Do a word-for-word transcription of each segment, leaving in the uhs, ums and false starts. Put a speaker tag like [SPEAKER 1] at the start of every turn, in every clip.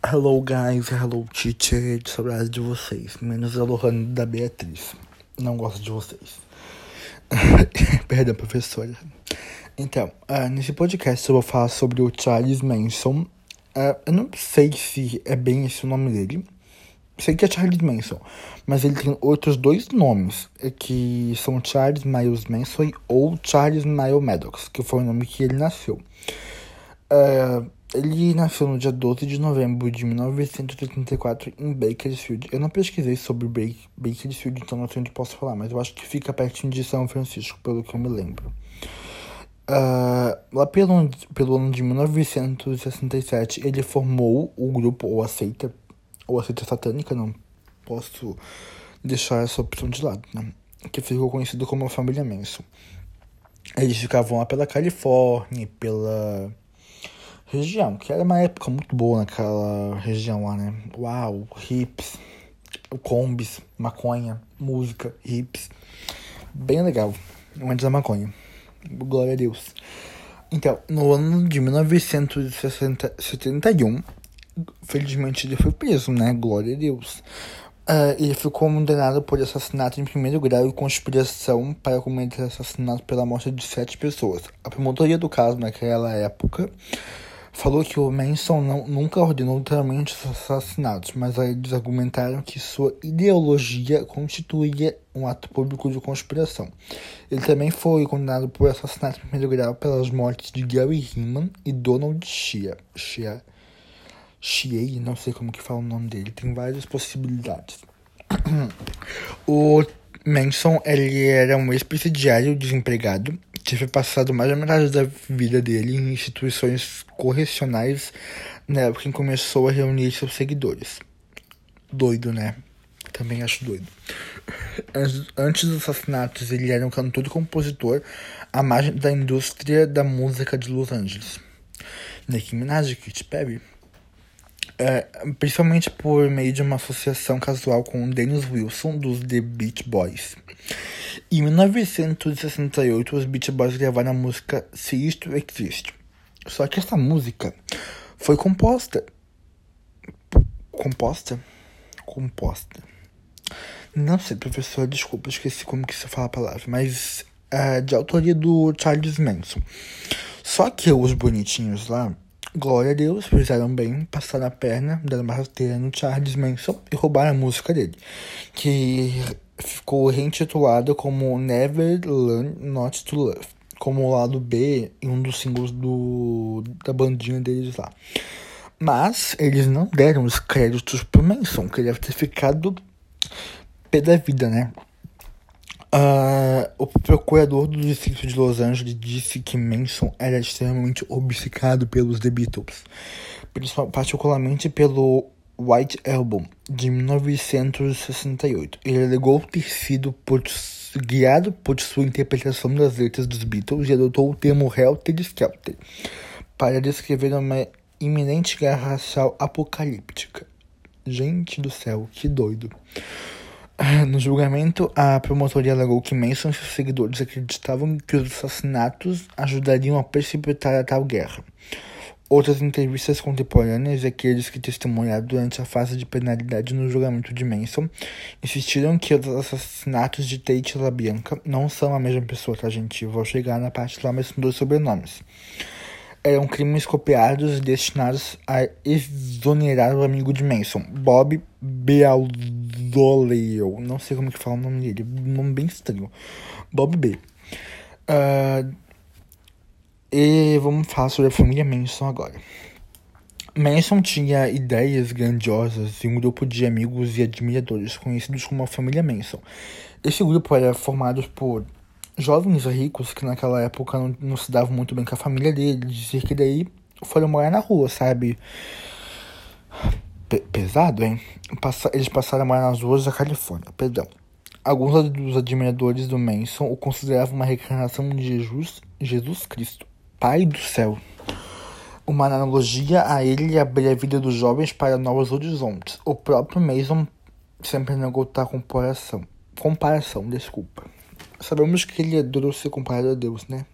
[SPEAKER 1] Hello guys, hello teacher, saudades de vocês, menos a Lohane da Beatriz, não gosto de vocês. Perdão, professora. Então, uh, nesse podcast eu vou falar sobre o Charles Manson. Uh, eu não sei se é bem esse o nome dele, sei que é Charles Manson, mas ele tem outros dois nomes, que são Charles Miles Manson ou Charles Miles Maddox, que foi o nome que ele nasceu. Uh, ele nasceu no dia doze de novembro de mil novecentos e oitenta e quatro em Bakersfield. Eu não pesquisei sobre Bakersfield, então não sei onde posso falar, mas eu acho que fica pertinho de São Francisco, pelo que eu me lembro. Uh, lá pelo, pelo ano de mil novecentos e sessenta e sete, ele formou o grupo ou a seita, ou a seita satânica, não posso deixar essa opção de lado, né? Que ficou conhecido como a família Manson. Eles ficavam lá pela Califórnia, pela região, que era uma época muito boa naquela região lá, né? Uau, hips, combis, maconha, música, hips. Bem legal, antes da maconha. Glória a Deus. Então, no ano de mil novecentos e setenta e um, felizmente ele foi preso, né? Glória a Deus. Uh, ele ficou condenado por assassinato em primeiro grau e conspiração para cometer assassinato pela morte de sete pessoas. A promotoria do caso naquela época falou que o Manson não, nunca ordenou literalmente os assassinatos, mas aí eles argumentaram que sua ideologia constituía um ato público de conspiração. Ele também foi condenado por assassinato em primeiro grau pelas mortes de Gary Hinman e Donald Shea. Shea. Shea, não sei como que fala o nome dele, tem várias possibilidades. O Manson, ele era um ex-presidiário desempregado, tive passado mais da metade da vida dele em instituições correcionais na época em que começou a reunir seus seguidores. Doido, né? Também acho doido. Antes dos assassinatos, ele era um cantor e compositor à margem da indústria da música de Los Angeles. Nicki Minaj, Katy Perry. É, principalmente por meio de uma associação casual com o Dennis Wilson, dos The Beach Boys. Em mil novecentos e sessenta e oito, os Beach Boys gravaram a música Cease to Exist. Só que essa música foi composta... Composta? Composta. Não sei, professor, desculpa, esqueci como que se fala a palavra. Mas é de autoria do Charles Manson. Só que os bonitinhos lá, glória a Deus, fizeram bem, passaram a perna, deram uma rasteira no Charles Manson e roubaram a música dele, que ficou reintitulada como Never Learn Not to Love, como o lado B em um dos singles do, da bandinha deles lá. Mas eles não deram os créditos pro Manson, que ele deve ter ficado pé da vida, né? Uh, o procurador do distrito de Los Angeles disse que Manson era extremamente obcecado pelos The Beatles, particularmente pelo White Album, de mil novecentos e sessenta e oito. Ele alegou ter sido por, guiado por sua interpretação das letras dos Beatles e adotou o termo Helter Skelter para descrever uma iminente guerra racial apocalíptica. Gente do céu, que doido. No julgamento, a promotoria alegou que Manson e seus seguidores acreditavam que os assassinatos ajudariam a precipitar a tal guerra. Outras entrevistas contemporâneas e aqueles que testemunharam durante a fase de penalidade no julgamento de Manson insistiram que os assassinatos de Tate LaBianca não são a mesma pessoa, tá, gente? Eu vou chegar na parte lá, mas são dois sobrenomes. Eram crimes copiados e destinados a exonerar o amigo de Manson, Bob Beausoleil. Não sei como que fala o nome dele, um nome bem estranho. Bob B. Uh, e vamos falar sobre a família Manson agora. Manson tinha ideias grandiosas e um grupo de amigos e admiradores conhecidos como a família Manson. Esse grupo era formado por jovens ricos que naquela época não, não se davam muito bem com a família dele, dizer que daí foram morar na rua, sabe? P- pesado, hein? Passa- eles passaram a morar nas ruas da Califórnia, perdão. Alguns dos admiradores do Manson o consideravam uma reencarnação de Jesus, Jesus Cristo, Pai do céu. Uma analogia a ele abrir a vida dos jovens para novos horizontes. O próprio Manson sempre negou tal comparação. Comparação, desculpa. Sabemos que ele adorou ser comparado a Deus, né?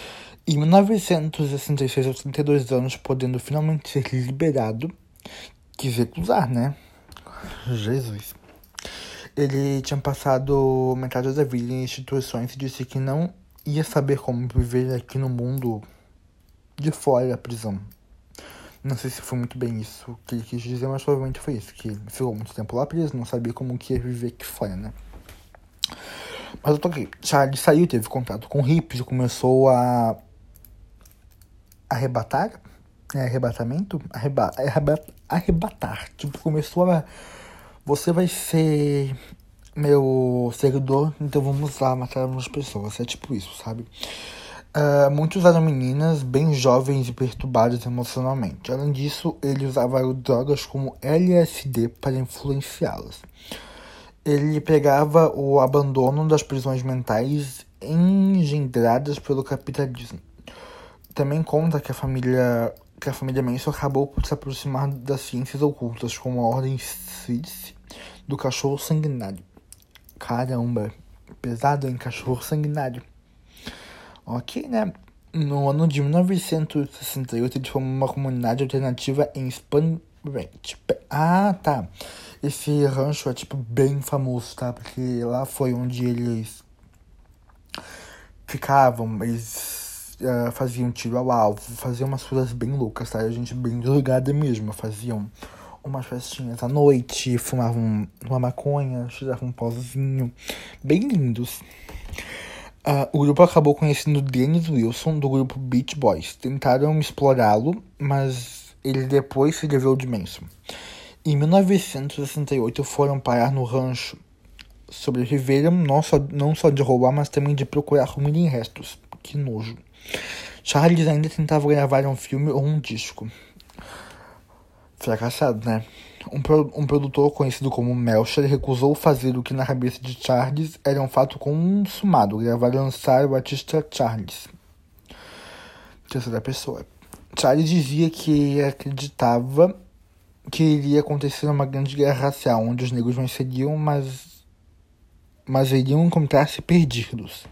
[SPEAKER 1] Em mil novecentos e sessenta e seis, aos trinta e dois anos, podendo finalmente ser liberado, quis recusar, né? Jesus. Ele tinha passado metade da vida em instituições e disse que não ia saber como viver aqui no mundo de fora da prisão. Não sei se foi muito bem isso que ele quis dizer, mas provavelmente foi isso. Que ficou muito tempo lá preso, não sabia como que ia viver aqui fora, né? Mas eu tô aqui. Charlie saiu, teve contato com hippies e começou a arrebatar, né? Arrebatamento? Arreba... Arreba... Arrebatar. Tipo, começou a... Você vai ser meu seguidor, então vamos lá matar umas pessoas. É tipo isso, sabe? Uh, muitos eram meninas bem jovens e perturbadas emocionalmente. Além disso, ele usava drogas como L S D para influenciá-las. Ele pegava o abandono das prisões mentais engendradas pelo capitalismo. Também conta que a família, que a família Manson acabou por se aproximar das ciências ocultas, como a ordem Sílice do cachorro sanguinário. Caramba, pesado, hein? Cachorro sanguinário. Ok, né? No ano de mil novecentos e sessenta e oito, ele formou uma comunidade alternativa em Spring Ranch. Ah, tá. Esse rancho é, tipo, bem famoso, tá? Porque lá foi onde eles ficavam, eles uh, faziam tiro ao alvo, faziam umas coisas bem loucas, tá? A gente bem drogada mesmo. Faziam umas festinhas à noite, fumavam uma maconha, tiravam um pozinho. Bem lindos. Uh, o grupo acabou conhecendo Dennis Wilson, do grupo Beach Boys. Tentaram explorá-lo, mas ele depois se livrou de Manson. Em mil novecentos e sessenta e oito, foram parar no rancho. Sobreviveram não só, não só de roubar, mas também de procurar comida em restos. Que nojo. Charles ainda tentava gravar um filme ou um disco. Fracassado, né? Um, pro, um produtor conhecido como Melcher recusou fazer o que na cabeça de Charles era um fato consumado, gravar e lançar o artista Charles. Terceira pessoa. Charles dizia que acreditava que iria acontecer uma grande guerra racial, onde os negros venceriam, mas, mas iriam encontrar-se perdidos.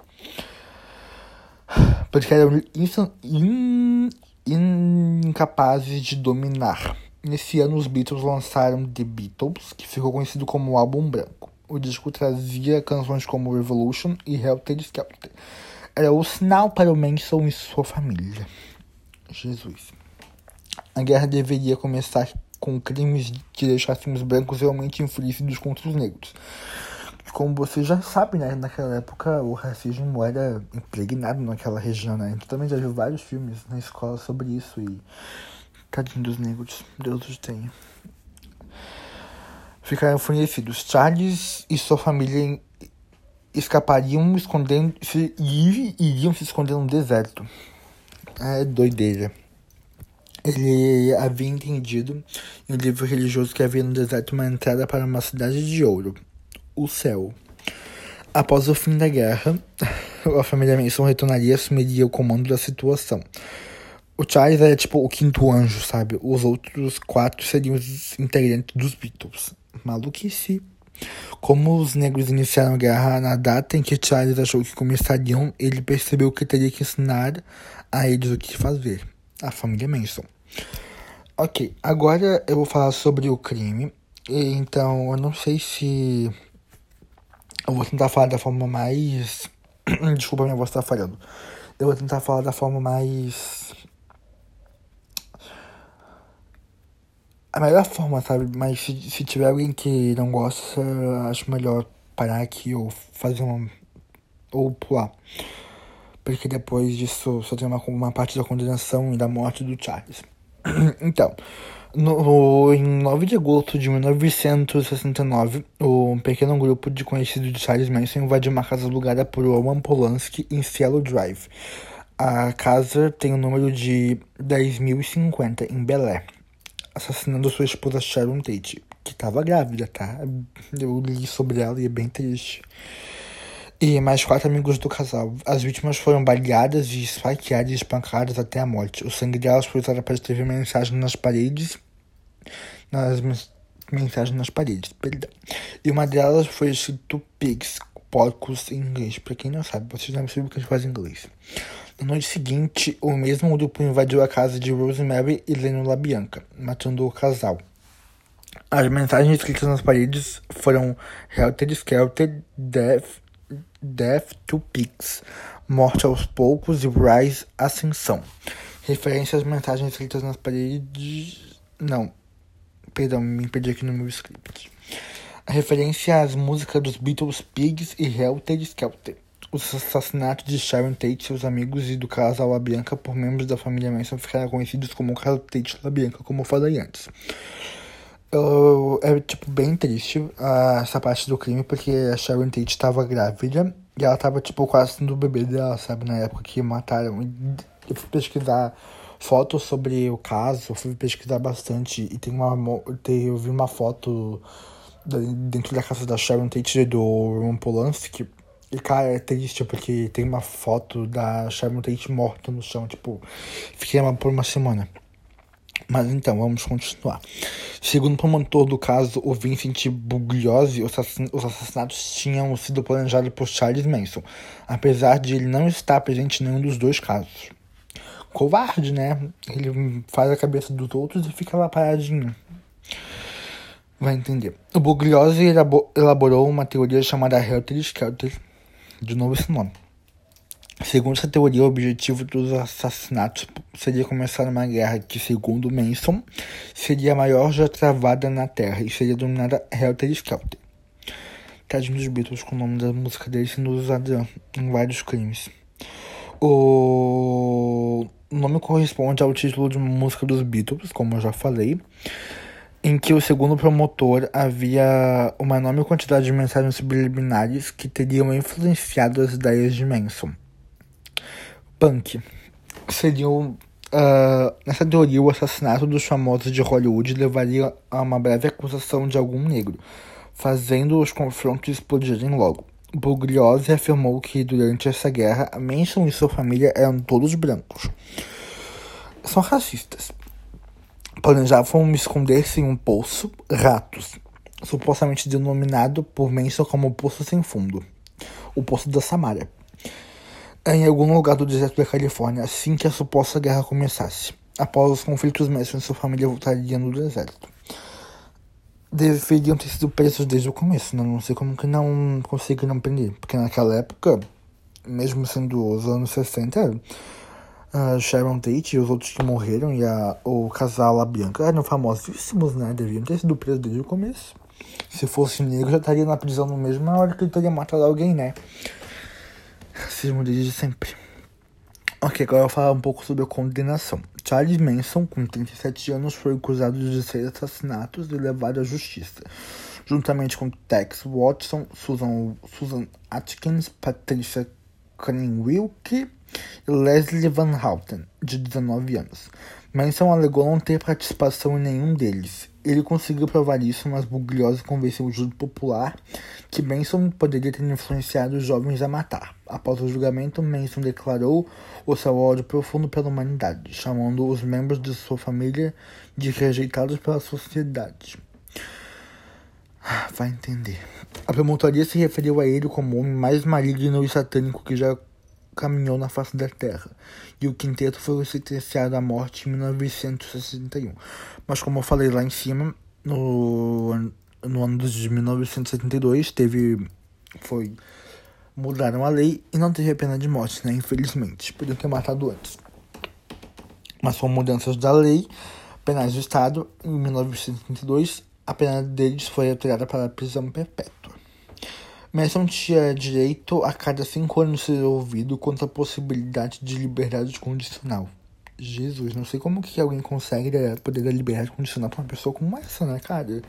[SPEAKER 1] Porque eram in, in, incapazes de dominar. Nesse ano, os Beatles lançaram The Beatles, que ficou conhecido como o Álbum Branco. O disco trazia canções como Revolution e Helter Skelter. Era o sinal para o Manson e sua família. Jesus. A guerra deveria começar com crimes que deixassem os brancos realmente enfurecidos contra os negros. Como você já sabe, né? Naquela época, o racismo era impregnado naquela região, né? Tu também já viu vários filmes na escola sobre isso e... Tadinho dos negros, Deus os tenha. Ficaram enfurecidos. Charles e sua família escapariam escondendo, se, e iriam se esconder no deserto. É doideira. Ele havia entendido em um livro religioso que havia no deserto uma entrada para uma cidade de ouro, o céu. Após o fim da guerra, a família Manson retornaria e assumiria o comando da situação. O Charles era tipo o quinto anjo, sabe? Os outros quatro seriam os integrantes dos Beatles. Maluquice. Como os negros iniciaram a guerra na data em que Charles achou que começariam, ele percebeu que teria que ensinar a eles o que fazer. A família Manson. Ok, agora eu vou falar sobre o crime. Então, eu não sei se... Eu vou tentar falar da forma mais... Desculpa, minha voz tá falhando. Eu vou tentar falar da forma mais... A melhor forma, sabe? Mas se, se tiver alguém que não gosta, acho melhor parar aqui ou fazer uma... Ou pular. Porque depois disso só tem uma, uma parte da condenação e da morte do Charles. Então, no, em nove de agosto de mil novecentos e sessenta e nove, um pequeno grupo de conhecidos de Charles Manson invadiu uma casa alugada por Roman Polanski em Cielo Drive. A casa tem o número de dez mil e cinquenta, em Bel Air, assassinando sua esposa Sharon Tate, que estava grávida, tá? Eu li sobre ela e é bem triste. E mais quatro amigos do casal. As vítimas foram baleadas e esfaqueadas e espancadas até a morte. O sangue delas foi usado para escrever mensagens nas paredes. Nas mensagens nas paredes, perdão. E uma delas foi escrito pigs, porcos em inglês. Pra quem não sabe, vocês não sabem o que a gente faz em inglês. Na noite seguinte, o mesmo grupo invadiu a casa de Rosemary e Lennon LaBianca, matando o casal. As mensagens escritas nas paredes foram Helter Skelter, Death, Death to Pigs, Morte aos Poucos e Rise Ascensão. Referência às mensagens escritas nas paredes... Não, perdão, me perdi aqui no meu script. A referência às músicas dos Beatles, Pigs e Helter Skelter. Os assassinatos de Sharon Tate, seus amigos e do casal LaBianca por membros da família Manson ficaram conhecidos como caso Tate LaBianca, como eu falei antes. Eu, é, tipo, bem triste uh, essa parte do crime, porque a Sharon Tate estava grávida e ela estava, tipo, quase tendo o bebê dela, sabe, na época que mataram. Eu fui pesquisar fotos sobre o caso, fui pesquisar bastante e tem uma, tem, eu vi uma foto dentro da casa da Sharon Tate e do Roman Polanski. E, cara, é triste porque tem uma foto da Sharon Tate morta no chão, tipo, fiquei por uma semana. Mas então, vamos continuar. Segundo o promotor do caso, o Vincent Bugliosi, os assassinatos tinham sido planejados por Charles Manson, apesar de ele não estar presente em nenhum dos dois casos. Covarde, né? Ele faz a cabeça dos outros e fica lá paradinho. Vai entender. O Bugliosi elaborou uma teoria chamada Helter Skelter. De novo esse nome. Segundo essa teoria, o objetivo dos assassinatos seria começar uma guerra que, segundo Manson, seria a maior já travada na Terra e seria denominada Helter Skelter. Tadinho dos Beatles, com o nome da música deles sendo usado em vários crimes. O nome corresponde ao título de uma música dos Beatles, como eu já falei, em que o segundo promotor havia uma enorme quantidade de mensagens subliminares que teriam influenciado as ideias de Manson. Punk. Seriam, uh, nessa teoria, o assassinato dos famosos de Hollywood levaria a uma breve acusação de algum negro, fazendo os confrontos explodirem logo. Bugliosi afirmou que durante essa guerra, Manson e sua família eram todos brancos. São racistas. Planejavam esconder-se em um poço, Ratos, supostamente denominado por Manson como Poço Sem Fundo, o Poço da Samária, em algum lugar do deserto da Califórnia, assim que a suposta guerra começasse. Após os conflitos, Manson e sua família voltariam no deserto. Deveriam ter sido presos desde o começo, né? Não sei como que não conseguiram prender, porque naquela época, mesmo sendo os anos sessenta, a Sharon Tate e os outros que morreram e a, o casal LaBianca eram famosíssimos, né? Deviam ter sido presos desde o começo. Se fosse negro, já estaria na prisão na mesma hora que ele teria matado alguém, né? Racismo desde sempre. Ok, agora eu vou falar um pouco sobre a condenação. Charles Manson, com trinta e sete anos, foi acusado de seis assassinatos e levado à justiça, juntamente com Tex Watson, Susan, Susan Atkins, Patricia Krenwinkel e Leslie Van Houten, de dezenove anos. Manson alegou não ter participação em nenhum deles. Ele conseguiu provar isso, mas Bugliosi convenceu o júri popular que Manson poderia ter influenciado os jovens a matar. Após o julgamento, Manson declarou o seu ódio profundo pela humanidade, chamando os membros de sua família de rejeitados pela sociedade. Vai entender. A promotoria se referiu a ele como o homem mais maligno e satânico que já caminhou na face da Terra, e o quinteto foi sentenciado à morte em mil novecentos e sessenta e um. Mas como eu falei lá em cima, no, no ano de mil novecentos e setenta e dois, teve, foi, mudaram a lei e não teve a pena de morte, né? Infelizmente, podiam ter matado antes. Mas com mudanças da lei penais do Estado, em mil novecentos e setenta e dois, a pena deles foi alterada para a prisão perpétua. Manson tinha direito a cada cinco anos ser ouvido quanto à possibilidade de liberdade condicional. Jesus, não sei como que alguém consegue poder dar liberdade condicional pra uma pessoa como essa, né, cara?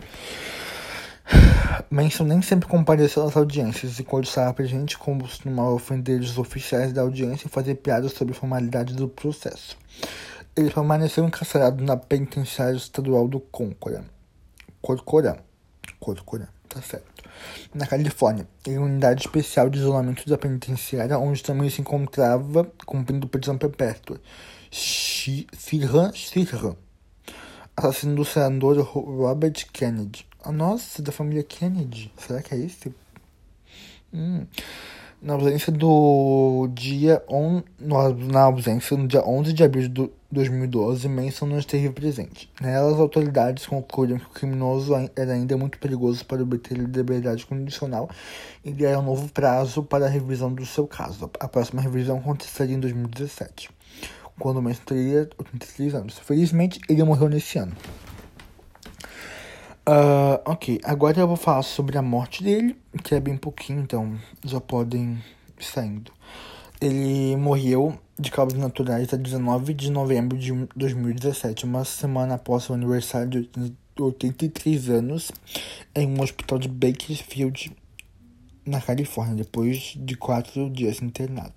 [SPEAKER 1] Manson nem sempre compareceu às audiências e quando estava presente costumava ofender os oficiais da audiência e fazer piadas sobre a formalidade do processo. Ele permaneceu encarcerado na penitenciária estadual do Corcoran. Corcoran. Corcoran, tá certo. Na Califórnia, em uma unidade especial de isolamento da penitenciária, onde também se encontrava cumprindo prisão perpétua. Sirhan Sirhan, assassino do senador Robert Kennedy. Ah, nossa, da família Kennedy. Será que é esse? Hum. Na ausência do dia on, na ausência no dia onze de abril de dois mil e doze, Manson não esteve presente. Nela, as autoridades concluíram que o criminoso era ainda muito perigoso para obter liberdade condicional e deram um novo prazo para a revisão do seu caso. A próxima revisão aconteceria em dois mil e dezessete, quando Manson teria oitenta e três anos. Felizmente, ele morreu nesse ano. Uh, ok, agora eu vou falar sobre a morte dele, que é bem pouquinho, então já podem ir saindo. Ele morreu de causas naturais a dezenove de novembro de dois mil e dezessete, uma semana após seu aniversário de oitenta e três anos, em um hospital de Bakersfield, na Califórnia, depois de quatro dias internado.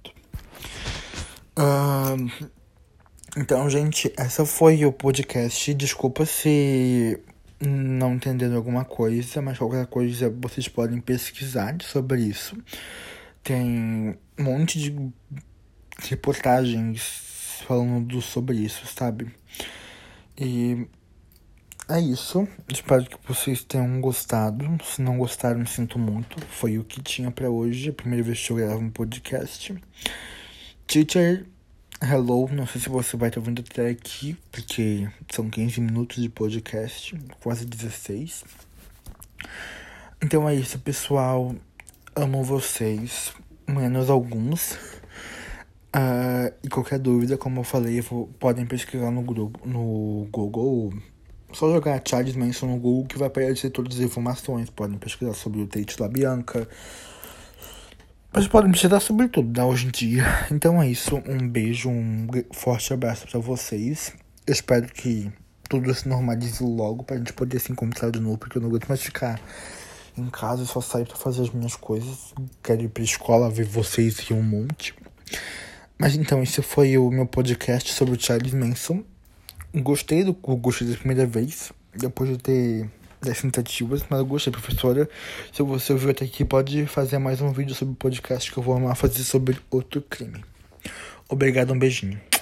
[SPEAKER 1] Uh, então, gente, essa foi o podcast. Desculpa se não entenderam alguma coisa, mas qualquer coisa vocês podem pesquisar sobre isso. Tem um monte de reportagens falando sobre isso, sabe? E é isso. Espero que vocês tenham gostado. Se não gostaram, sinto muito. Foi o que tinha pra hoje. A primeira vez que eu gravo um podcast. Teacher, hello. Não sei se você vai estar ouvindo até aqui, porque são quinze minutos de podcast, quase dezesseis. Então é isso, pessoal. Amo vocês, menos alguns. Uh, e qualquer dúvida, como eu falei, vou, podem pesquisar no, grupo, no Google. Só jogar Charles Manson no Google que vai aparecer todas as informações. Podem pesquisar sobre o Tate LaBianca. Mas podem pesquisar sobre tudo, né, hoje em dia. Então é isso. Um beijo, um forte abraço pra vocês. Eu espero que tudo se normalize logo pra gente poder se encontrar de novo. Porque eu não aguento mais ficar em casa e só sair pra fazer as minhas coisas. Quero ir pra escola, ver vocês e um monte. Mas então, esse foi o meu podcast sobre o Charles Manson. Gostei do gostei da primeira vez, depois de ter dez tentativas, mas eu gostei, professora. Se você ouviu até aqui, pode fazer mais um vídeo sobre o podcast que eu vou amar fazer sobre outro crime. Obrigado, um beijinho.